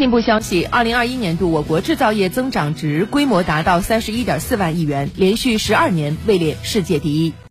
进一步消息，2021年度我国制造业增长值规模达到31.4万亿元，连续12年位列世界第一。